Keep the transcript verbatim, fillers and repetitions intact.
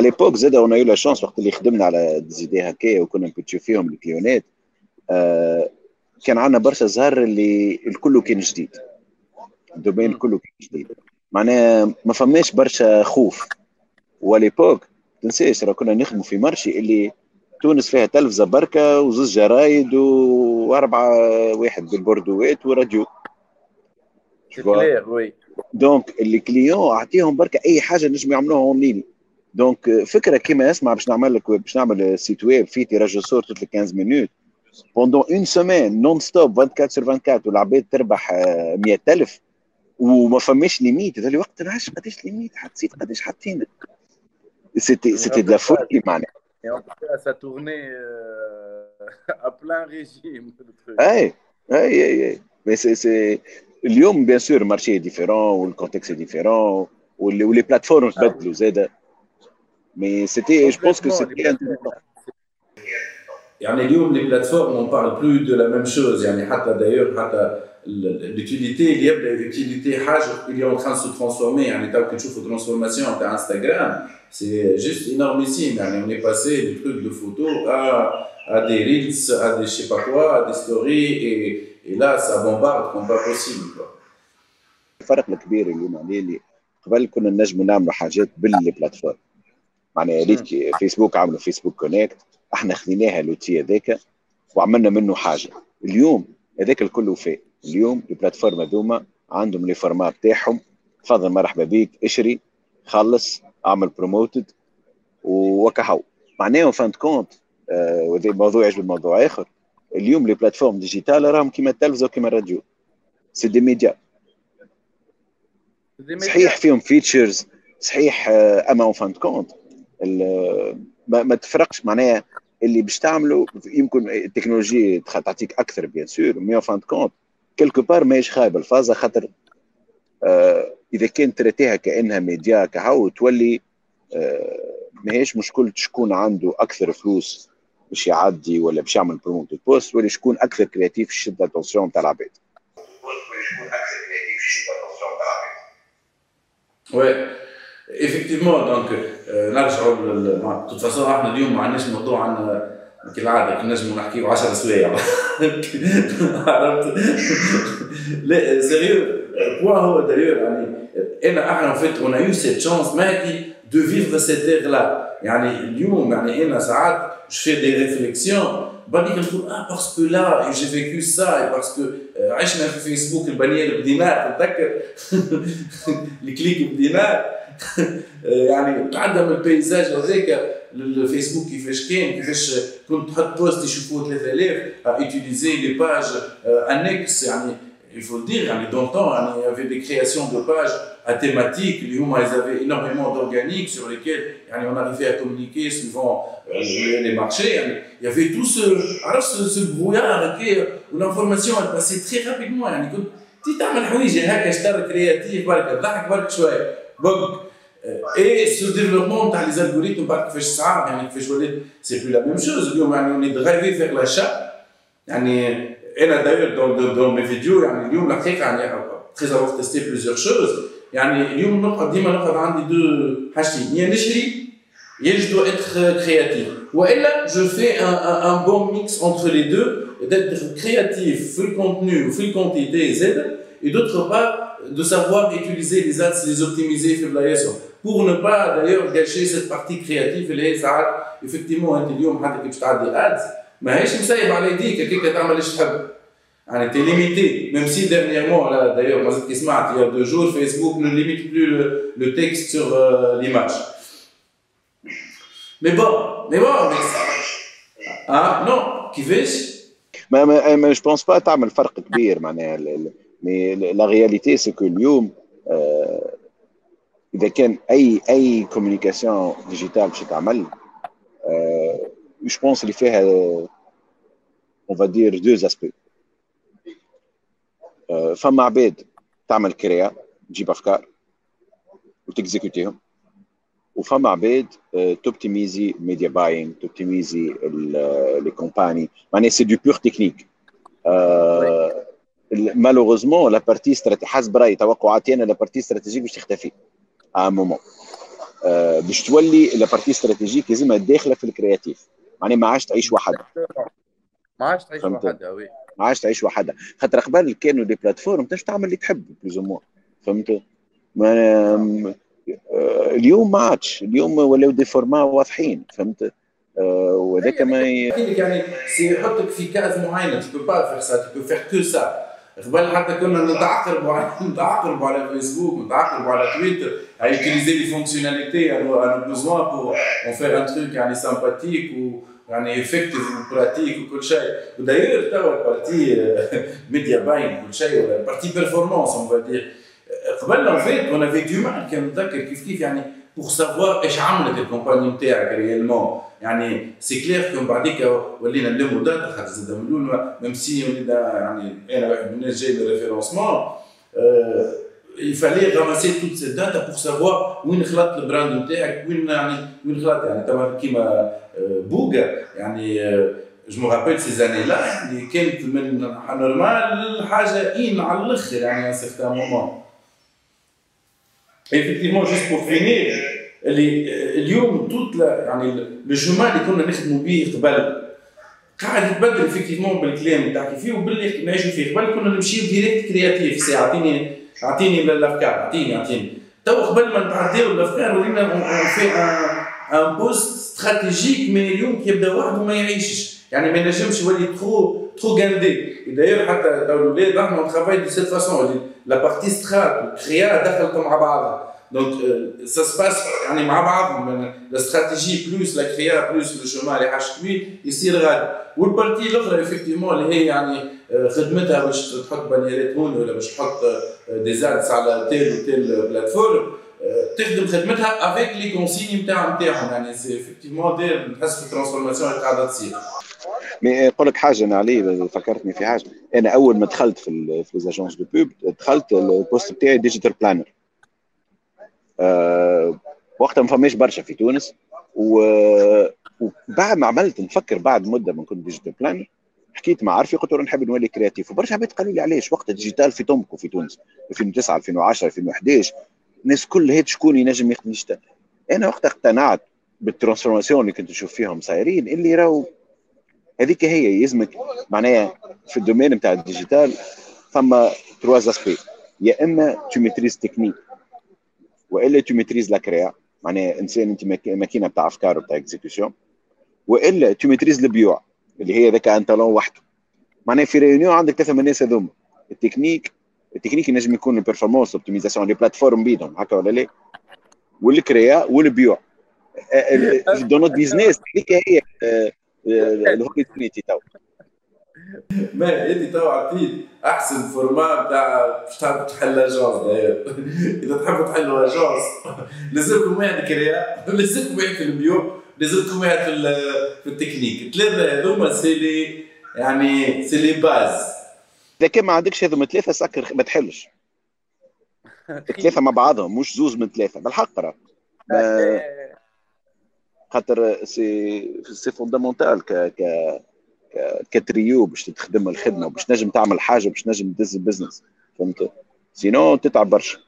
ليبوك زاد اون يو لا شانس وقت اللي خدمنا على ديزيدي هكايا وكنا نبتشو فيهم الكليونات. آه كان عندنا برشا زهر اللي الكل كان جديد، الدومين كله كان جديد، معناها ما فماش برشا خوف. وليبوك تنساش راه كنا نخدموا في مرشي اللي تونس فيها تلفزه بركه وزوز جرايد واربعه واحد بالبوردوات وراديو. سي كلير وي. دونك اللي كليون اعطيهم بركه اي حاجه نجم يعملوها اونلاين. دونك فكره كيما اسمع باش نعمل لك باش نعمل سيت ويب فيه تيراج صور توت خمسطاش مينوت بوندون اون سيمين نون ستوب أربعة وعشرين سور أربعة وعشرين والعباد تربح مية ألف وما فماش ليميت. هذا الوقت نعرفش قداش ليميت حطيت قداش حطينا. سيتي سيتي دو لا فولي معناها. Ça tournait à plein régime. اي اي اي اي مي سي سي اليوم بيان سور مارشي ديفيرون والكونتكست ديفيرون ولي بلاتفورم تبدلوا زاده. مي سيتي جو بونس كو سيتي يعني اليوم لي بلاتفورم اون بارل بلو دو لا ميم شوز. يعني حتى دايور حتى l'utilité اللي يبدا l'utilité حاجه اللي اون تران سو ترانسفورمي. يعني تو كي تشوفوا ترانسفورماسيون تاع انستغرام سي جوست انورميسيم. يعني on est passé du truc de photo à à des reels à des je sais pas quoi à des stories et et là ça bombarde comme pas possible quoi. الفرق الكبير اليوم عليه اللي قبل كنا نجموا نعملوا حاجات بالبلاتفورم. معناها ريت فيسبوك عملوا فيسبوك كونكت، احنا خذيناها لوتي هذاك وعملنا منه حاجه. اليوم هذاك الكل وفاء. اليوم البلاتفورم هذوما عندهم لي فورمات تاعهم، تفضل مرحبا بيك اشري خلص اعمل بروموتد وكهو. معناها فانت كونت وهذا آه موضوع يعجب الموضوع اخر. اليوم لي بلاتفورم ديجيتال راهم كيما التلفزه وكيما الراديو، سي دي ميديا. صحيح فيهم فيتشرز صحيح آه اما اون فانت كونت ما, ما تفرقش. معناها اللي باش تعملوا يمكن التكنولوجيا تعطيك اكثر بيان سور، مي فان كونت كيلكو بار ماهيش خايبه الفازه. خاطر آه اذا كان تريتيها كانها ميديا كهو تولي آه ماهيش مشكل شكون عنده اكثر فلوس باش يعدي ولا باش يعمل بروموت بوست، ولا شكون اكثر كرياتيف يشد الاتونسيون تاع العباد. وي ايفيكتيفمون. دونك نرجعوا د توت فاسون احنا اليوم ما عندناش موضوع عندنا كالعاده نجموا نحكيو عشرة سوايع عرفت. لا سيريو بوان هو دايور يعني انا احنا فيت اون ايو سيت شانس ماكي دو فيفر سيت اير لا. يعني اليوم يعني انا ساعات جو في دي ريفليكسيون بعديك نقول اه باسكو لا جي فيكو سا باسكو عشنا في فيسبوك البنير بدينار تتذكر الكليك بدينار. يعني عدم البيزاج هذاك الفيسبوك كيفاش كان كيفاش كنت تحط بوست يشوفوه ثلاثة آلاف utiliser les pages annexes. يعني il faut le dire يعني dans le temps يعني il y avait des créations de pages à thématiques اللي هما ils avaient énormément d'organiques sur lesquels يعني on arrivait à communiquer suivant les marchés. يعني il y avait tout ce عرفت ce brouillard هكا والinformation elle passait très rapidement. يعني كنت تي تعمل حويجه هكا اشتر كرياتيف برك تضحك برك شويه بق. اي سو ديفلوبمون تاع لي الغوريثم بعد كيفاش صعب يعني كيفاش ولات سي بلو لا ميم شوز. اليوم يعني اوني دغايفي فيغ لاشا. يعني انا داير دون دون مي فيديو يعني اليوم الحقيقه يعني تري افور تيستي بليزيور شوز. يعني اليوم نقعد ديما نقعد عندي دو حاجتين، يا نشري يا جو دو اتر كرياتيف، والا جو في ان ان بون ميكس انتر لي دو ديتر كرياتيف في الكونتوني وفي الكونتيتي زاد et d'autre part de savoir utiliser les ads, les optimiser في بلايصهم pour ne pas d'ailleurs gâcher cette partie créative اللي هي ساعات effectivement انت اليوم حتى كي باش تعدي ads ماهيش مسيب على يديك هكاك تعمل ايش تحب. يعني تي ليميتي ميم سي dernièrement là d'ailleurs مازلت كي سمعت il y a deux jours Facebook ne limite plus le, le texte sur euh, l'image. mais bon mais bon mais ah non كيفاش ما ما ما جو بونس با تعمل فرق كبير معناها. مي لا رياليتي سي كو اليوم آه اذا كان اي اي كوميونيكاسيون ديجيتال باش تعمل آه جو بونس اللي فيها اون فا دير دو اسبي. آه فما عباد تعمل كريا تجيب افكار وتكزيكوتيهم، وفما عباد آه توبتيميزي ميديا باين توبتيميزي لي كومباني. معناها سي دو بور تكنيك. آه مالوغوزمون لا بارتي استراتيجيه حسب رايي توقعاتي انا لا بارتي استراتيجيك باش تختفي ا مومون. آه باش تولي لابارتي استراتيجيك لازمها داخله في الكرياتيف، معناها ما عادش تعيش وحدها. ما عادش تعيش فهمت؟ وحدها وي. ما عادش تعيش وحدها، خاطر قبل كانوا دي بلاتفورم تنجم تعمل اللي تحب بلوز موا. فهمت؟ ما آه اليوم ما عادش، اليوم ولاو دي فورما واضحين. فهمت؟ آه وهذاك ما ي... يعني سيحطك في كاز معينه، tu peux pas faire ça, tu peux faire que ça. قبل حتى كنا نتعقربوا على نتعقربوا على فيسبوك، نتعقربوا على تويتر، à utiliser les fonctionnalités à nos, à nos besoins pour en faire un truc يعني sympathique ou يعني effective ou pratique وكل شيء. وداير توا البارتي ميديا باين كل شيء ولا البارتي بيرفورمانس on va dire. قبل en fait on avait du mal كان نتذكر كيف كيف يعني pour savoir ايش عملت الكومباني نتاعك ريالمون. يعني سي كلير كون بعديك ولينا نلموا داتا خاطر زاد من الاول ميم سي ولينا يعني انا واحد من الناس جاي من الريفيرونسمون il fallait ramasser toutes ces data pour savoir وين خلط البراند نتاعك وين يعني وين خلط يعني توا كيما بوغا يعني جو مو رابيل سي زاني لا يعني كانت من نورمال حاجه ان على الاخر يعني ان سيغتان مومون. ايفيكتيفمون جوست بور فينير اللي اليوم توت يعني لو شومان اللي كنا نخدموا به قبل قاعد يتبدل افكتيفمون بالكلام اللي تحكي فيه وباللي نعيشوا فيه. قبل كنا نمشيو ديريكت كرياتيف، سي اعطيني اعطيني الافكار اعطيني اعطيني تو قبل ما نتعداو الافكار ولينا في ان بوست استراتيجيك. مي اليوم كيبدا واحد وما يعيشش يعني ما ينجمش يولي ترو ترو غاندي. داير حتى تو الاولاد احنا نترافاي دو سيت فاسون لا بارتي سترات كريا دخلت مع بعضها. دونك سا سباس يعني مع بعضهم الاستراتيجي بلوس لا كريا بلوس لو شومان اللي حاش كبير يصير غادي. والبارتي الاخرى افكتيفمون اللي هي يعني خدمتها باش تحط بانيرات هون ولا باش تحط دي زادس على تيل وتيل بلاتفورم تخدم خدمتها افيك لي كونسيني نتاع نتاعهم. يعني سي افكتيفمون داير نحس في الترانسفورماسيون اللي قاعده تصير. مي نقول لك حاجه انا علي فكرتني في حاجه. انا اول ما دخلت في في ليزاجونس دو بوب دخلت البوست بتاعي ديجيتال بلانر. أه وقتها ما فماش برشا في تونس، وبعد ما عملت نفكر بعد مده من كنت ديجيتال بلانر حكيت مع عارفي قلت له نحب نولي كرياتيف. وبرشا عباد قالوا لي علاش وقتها ديجيتال في تمكو في تونس ألفين وتسعة ألفين وعشرة ألفين وحداش الناس كل هيك شكون ينجم يخدم ديجيتال. انا وقتها اقتنعت بالترانسفورماسيون اللي كنت نشوف فيهم صايرين اللي راهو هذيك هي يلزمك معناها في الدومين نتاع الديجيتال. فما ترواز اسبي، يا اما تو ميتريز تكنيك والا تو ميتريز لا كريا معناها انسان انت ماكينه بتاع افكار وبتاع اكزيكيوشن، والا تو ميتريز البيوع اللي هي ذاك ان تالون وحده. معناها في ريونيون عندك ثلاثه من الناس هذوما التكنيك التكنيك ينجم يكون البيرفورمانس اوبتيميزاسيون لي بلاتفورم بيدهم هكا ولا لا، والكريا والبيوع في دونوت بيزنس. هذيك هي الهوبيتينيتي تو. ما انت تو عطيت احسن فورما بتاع باش تحب تحل اجونس. اذا تحبوا تحلوا اجونس لازمكم واحد كريا، لازمكم واحد في البيو، لازمكم واحد في في التكنيك. الثلاثه هذوما سي لي يعني سي لي باز. اذا كان ما عندكش هذوما ثلاثه سكر ما تحلش. الثلاثه مع بعضهم مش زوز من ثلاثه بالحق راه خاطر سي سي فوندامونتال ك ك كتريو باش تخدم الخدمه وباش نجم تعمل حاجه باش نجم تدز البزنس. فهمت؟ سينو تتعب برشا.